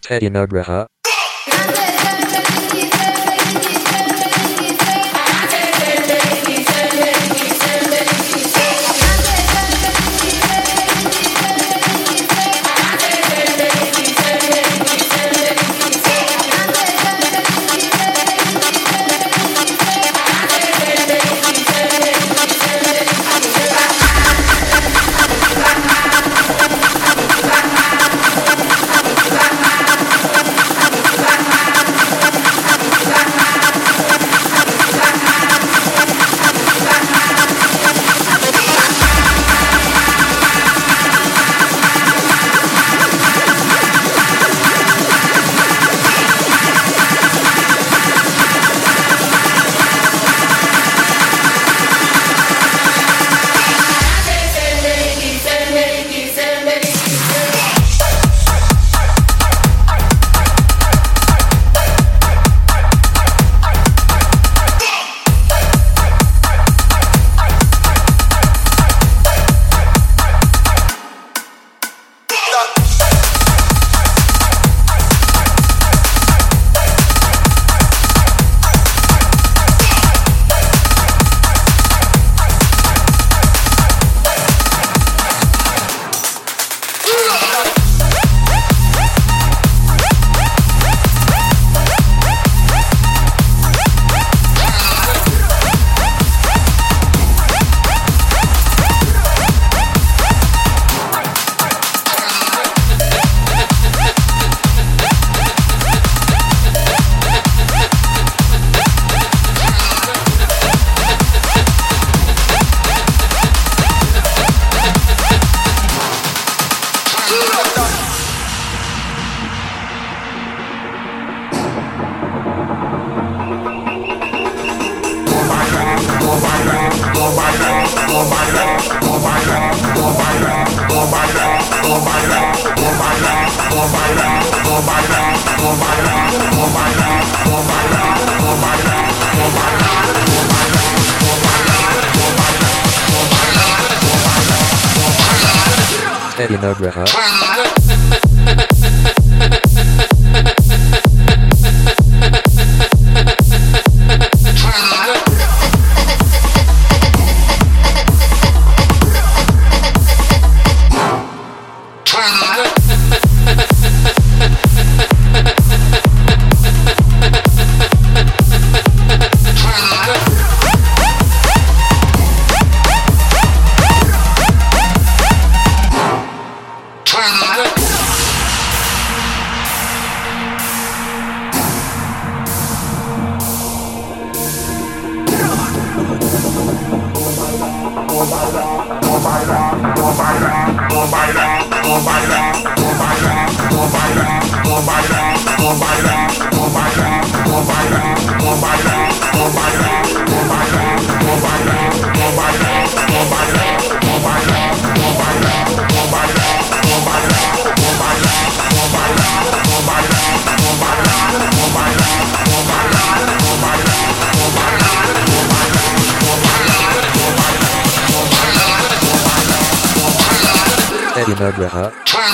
Teddy Nugraha. Teddy Nugraha. Teddy Nugraha.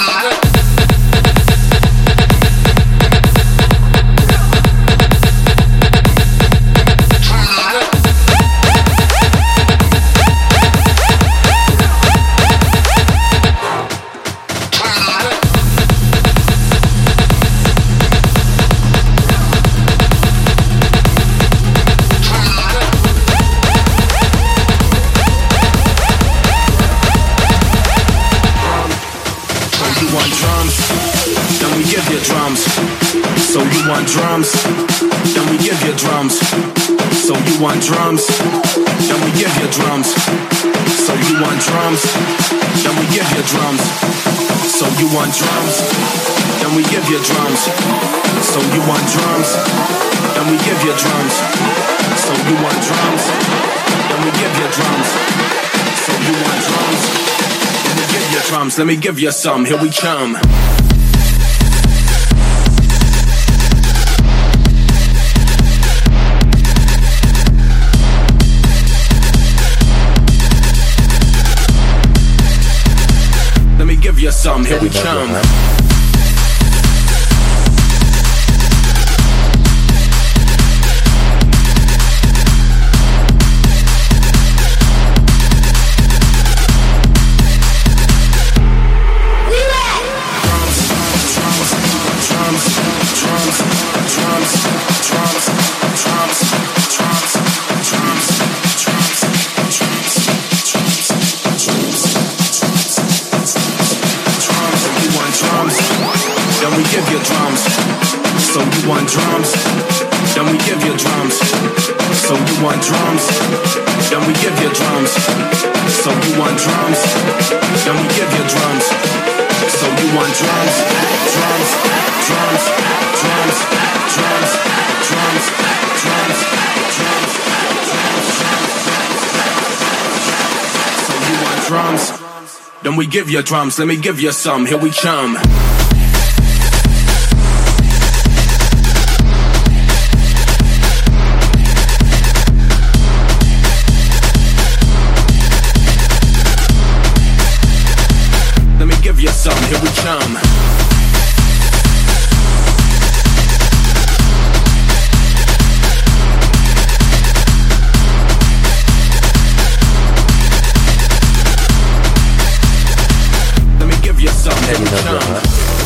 Drums, then we give you drums. So you want drums, then we give you drums. So you want drums, then we give you drums. So you want drums, then we give you drums. So you want drums, then we give you drums. So you want drums, then we give you drums. So you want drums, then we give you drums. Let me give you some, here we come. Give you some, here we come. we give you drums. So you want drums? Then we give you drums. So you want drums? Then we give you drums. So you want drums? Then we give you drums. So you want drums? Drums, drums, drums, drums, drums, drums, drums, drums. So you want drums? Then we give you drums. Let me give you some. Here we come. Give you some, here we come. Let me give you some, here we come.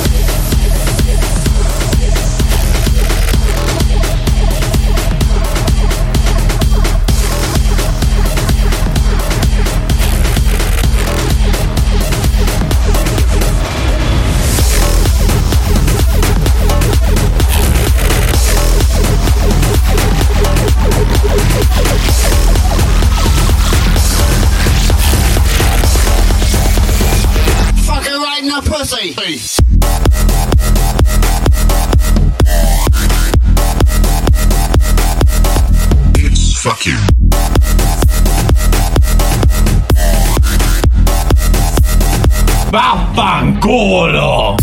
Pussy. It's fuck you. Vaffanculo!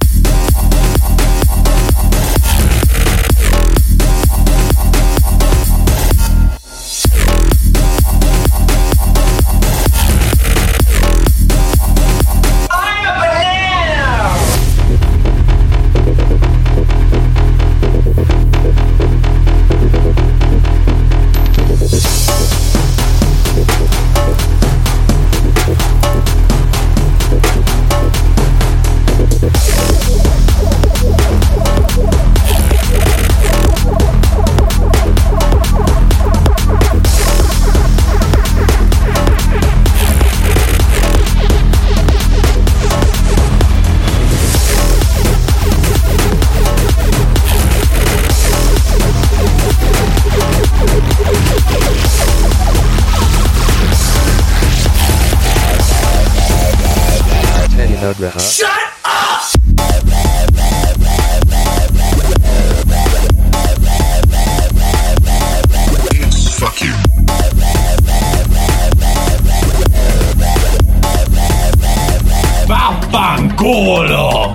Shut up! It's fuck you. Vaffanculo!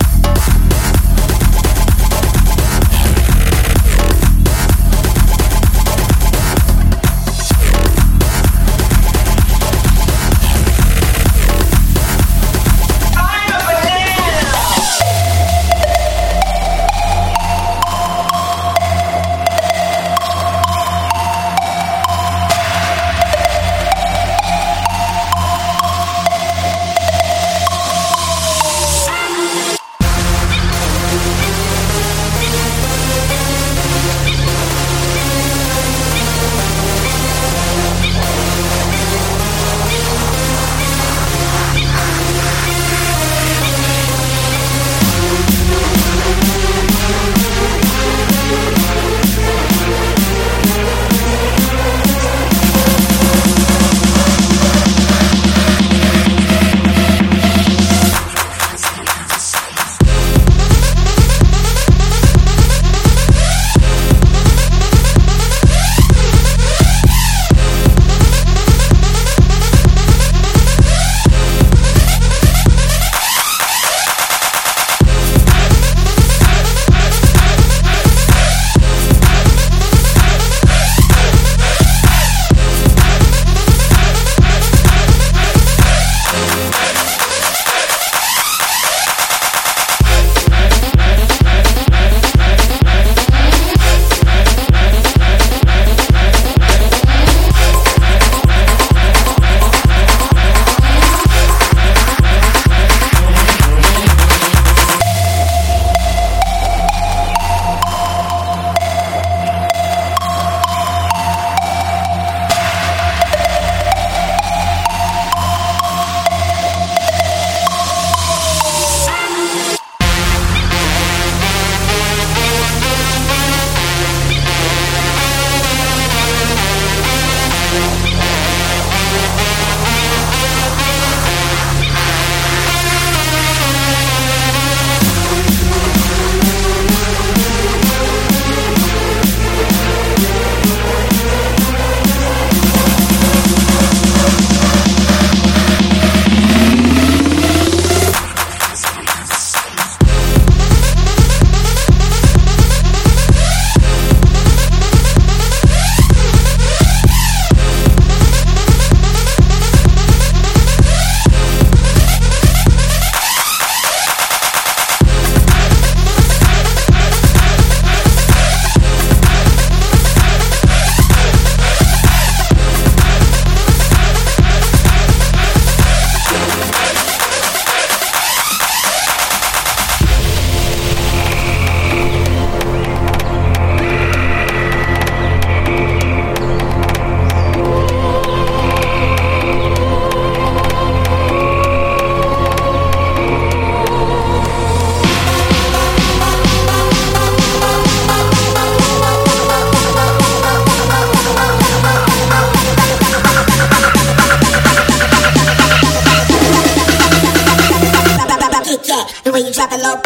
way you drop it low.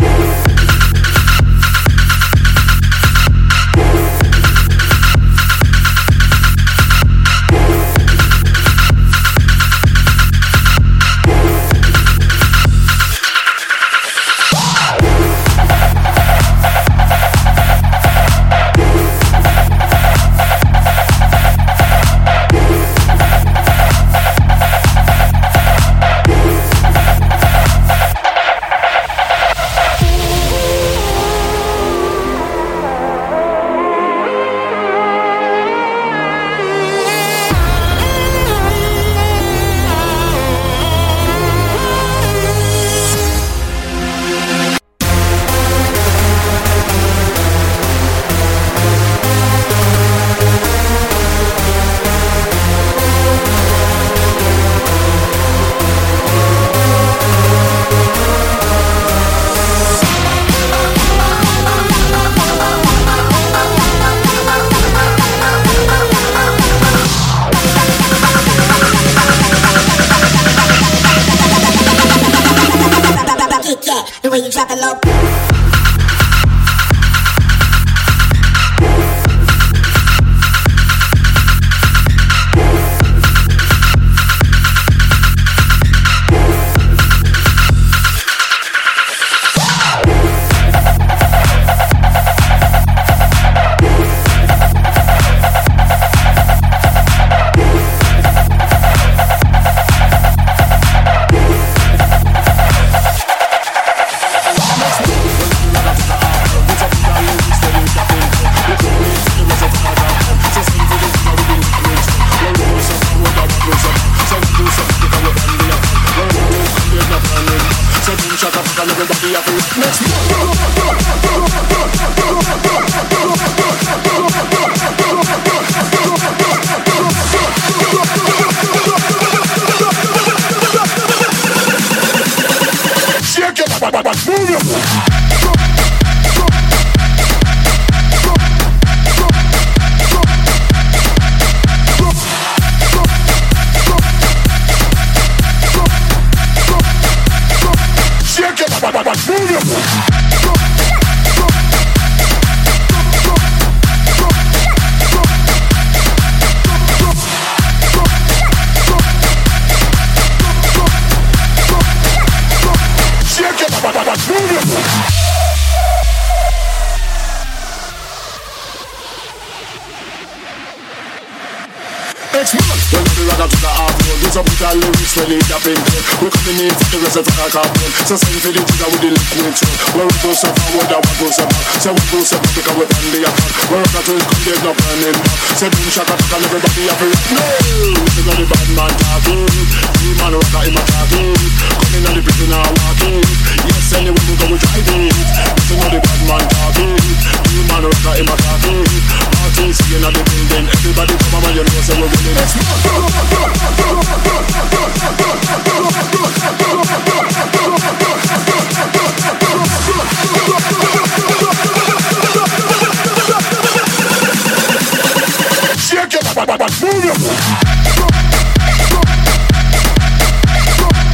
The way you drop it low. We're coming in for the rest of the carbon. So send for the jigger with the liquid too. Where we go so forward and what goes so back. So we go so back because we're on the attack. Where the twins come, there's no burning back. So boom shaka taka and everybody have it. No! This is not the bad man talking. You man rocker in my talking. Coming on the prison now walking. Yes, anyway we go we drive it. This is not the bad man talking. You man rocker in my talking. Parties singing on the building. Everybody come on, you know so we're winning. Shake it, move it.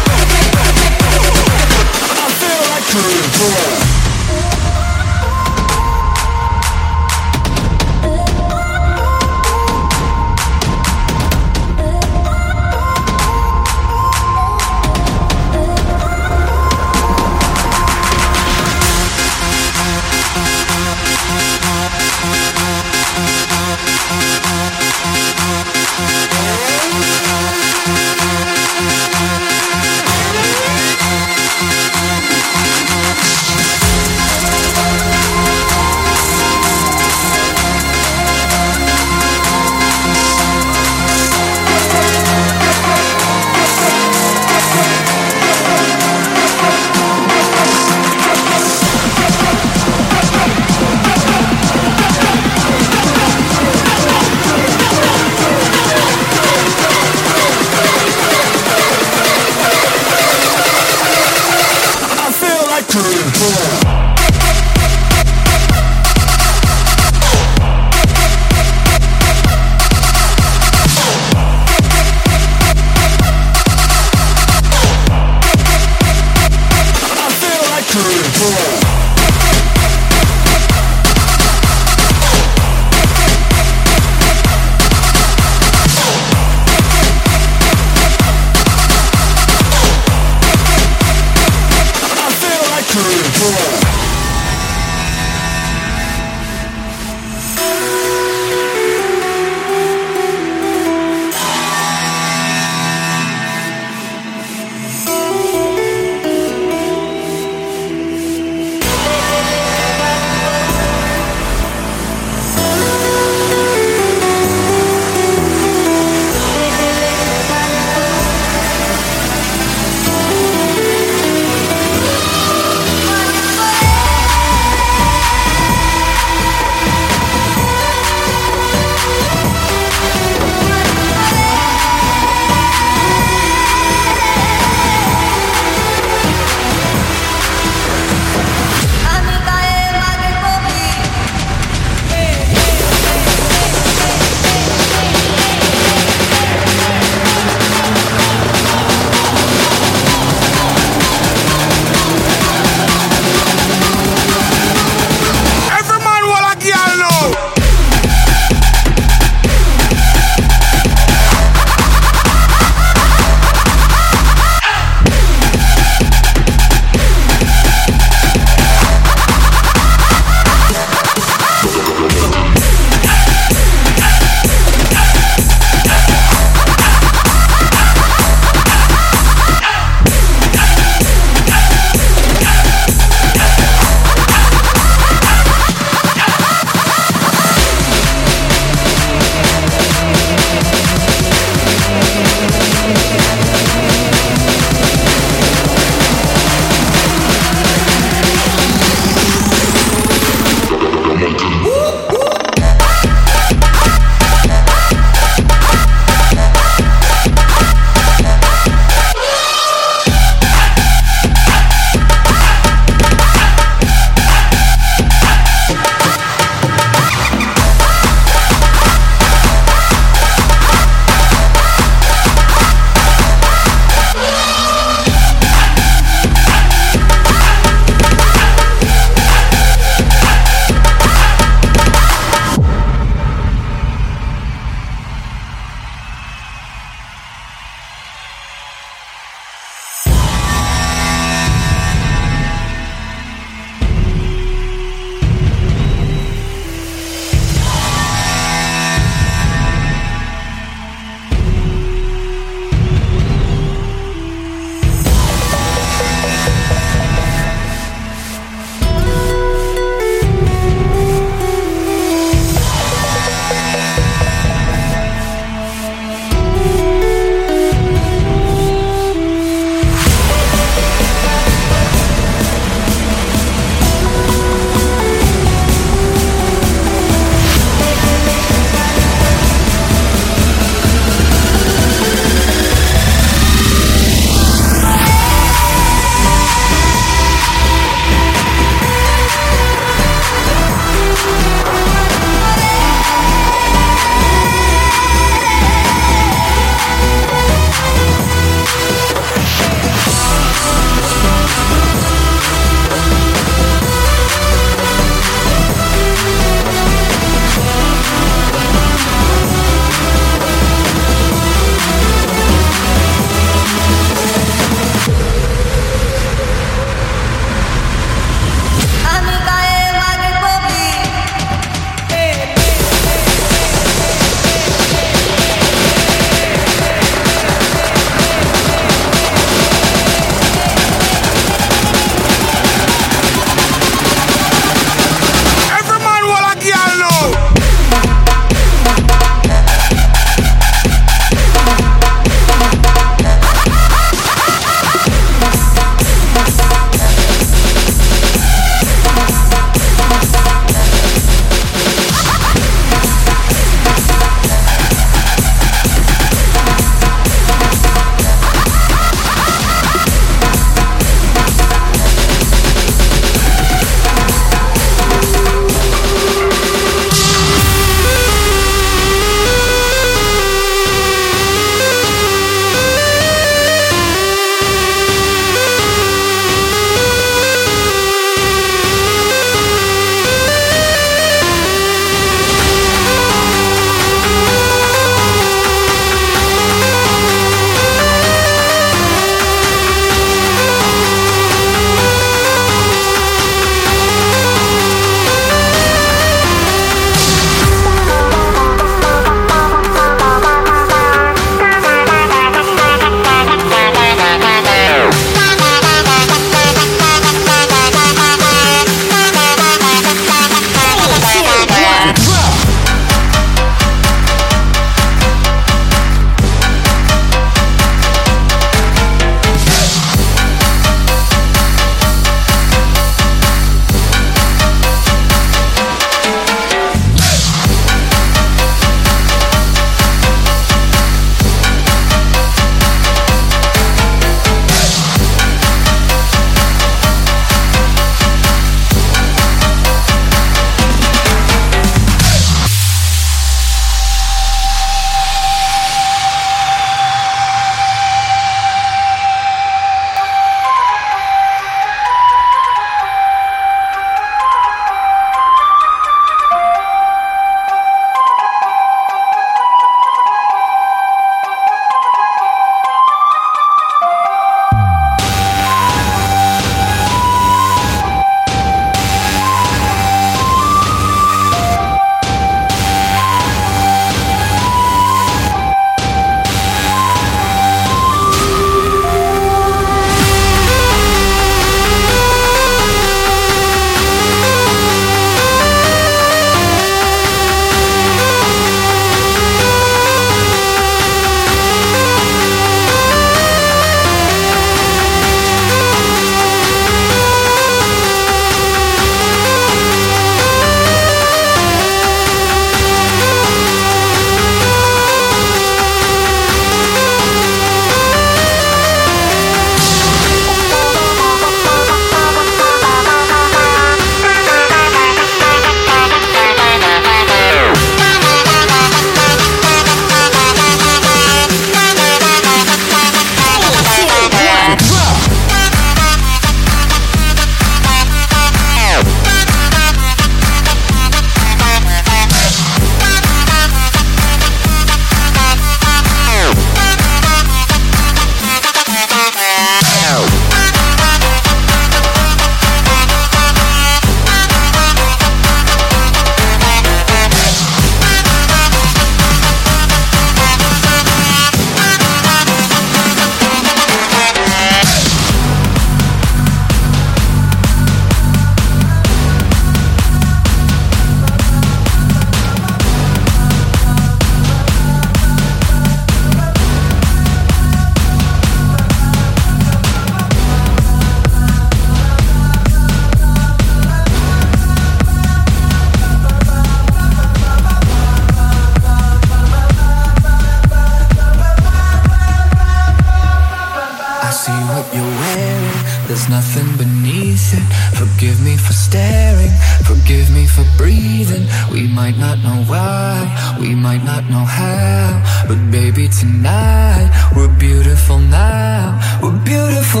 there's nothing beneath it. Forgive me for staring, forgive me for breathing. We might not know why, we might not know how, but baby tonight, we're beautiful now. We're beautiful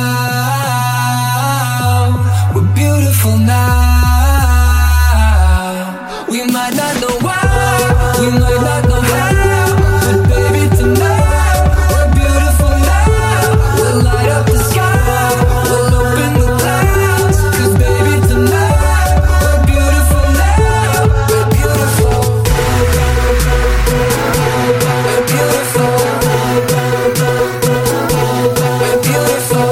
now. We're beautiful now. We might not know why, we might not know how, but baby tonight, we're beautiful now. We'll light up the sky, we'll open the clouds, 'cause baby tonight, we're beautiful now. We're beautiful. We're beautiful. We're beautiful.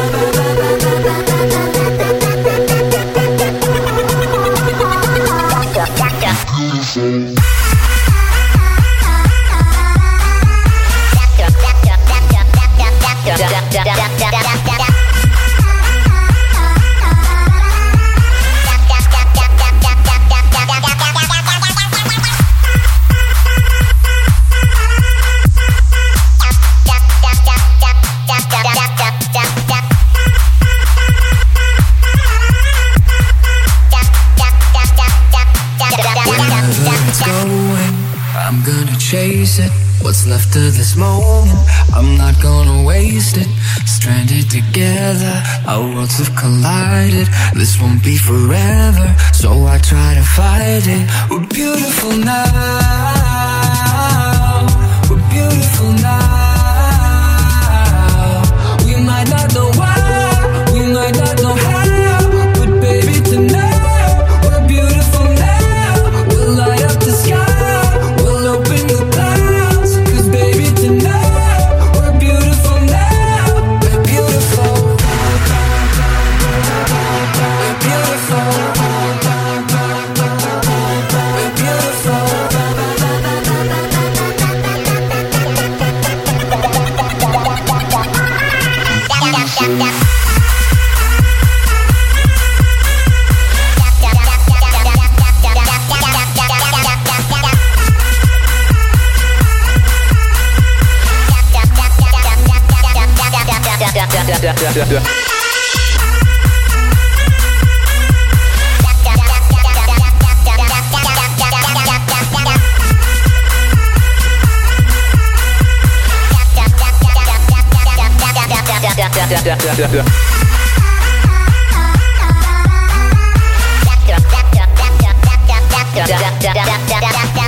I'm gonna chase it. What's left of this moment, I'm not gonna waste it. Stranded together, our worlds have collided. This won't be forever, so I try to fight it. We're beautiful now. We're beautiful now. We might not know why, we might not know how, but baby tonight, we're beautiful now. We'll light up the sky. Open the clouds, 'cause baby tonight, we're beautiful now. We're beautiful. We're beautiful. We're beautiful. Yeah.